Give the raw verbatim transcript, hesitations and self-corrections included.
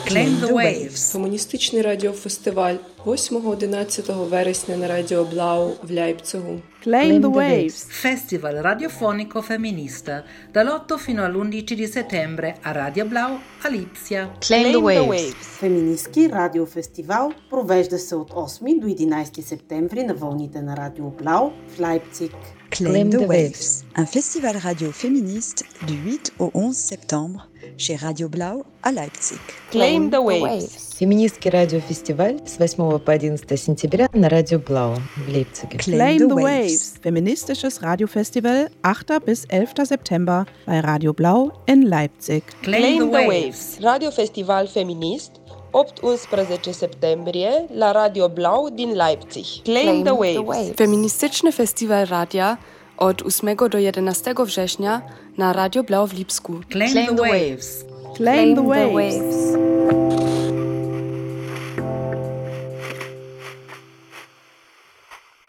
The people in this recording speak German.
Claim the Waves. Комуністичний радіофестиваль восьмого-одинадцятого вересня на Радіо Blau в Лейпцигу. Claim the Waves. Festival radiofonico femminista dall'otto fino all'undici di settembre a Radio Blau a Lipsia. Claim the Waves. Феминистки радиофестивал провежда се от осми до единайсети септември на вълните на Радио Blau в Лейпциг. Claim the Waves, un festival radio féministe du huit au onze septembre chez Radio Blau à Leipzig. Claim the Waves. Феминистский радиофестиваль с восьмого по одиннадцатое сентября на Радио Blau в Лейпциге. Claim the Waves, feministisches Radiofestival achter bis elfter September bei Radio Blau in Leipzig. Claim the Waves. Radiofestival feminist opt-unsprezece septembrie la Radio Blau din Leipzig. Claim the Waves. Feministyczny festiwal radia od ósmego do jedenastego września na Radio Blau w Lipsku. Claim the Waves. Claim the Waves.